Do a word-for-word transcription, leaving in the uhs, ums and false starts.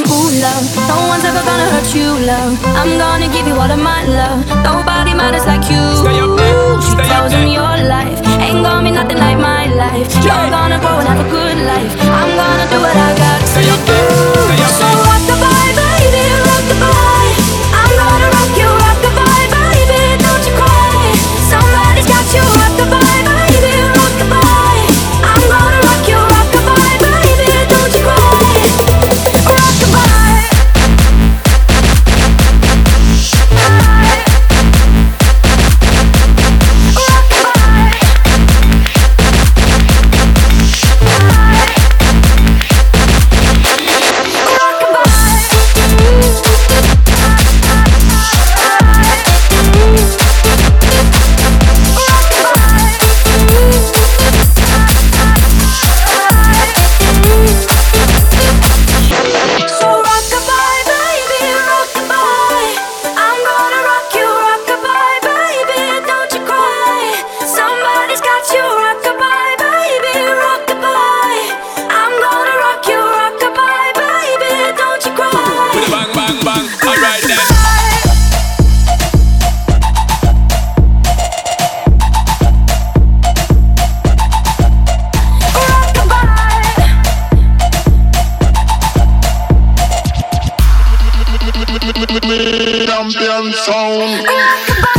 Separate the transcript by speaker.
Speaker 1: Ooh, love, no one's ever gonna hurt you, love. I'm gonna give you all of my love. Nobody matters like you.
Speaker 2: Stay up there,
Speaker 1: She
Speaker 2: stay up
Speaker 1: tells me
Speaker 2: there.
Speaker 1: your life ain't gonna be nothing like my life. You're gonna grow and have a good life. I'm gonna do what I got to
Speaker 2: Stay up
Speaker 1: do.
Speaker 2: there, stay up
Speaker 1: So
Speaker 2: there.
Speaker 1: rock the bye, baby, rock the bye. I'm gonna rock you, rock the bye, baby, don't you cry. Somebody's got you, rock the bye, baby, rock the bye. I'm gonna rock you, rock the bye, baby, don't you cry. Rock the bye.
Speaker 3: Champion sound.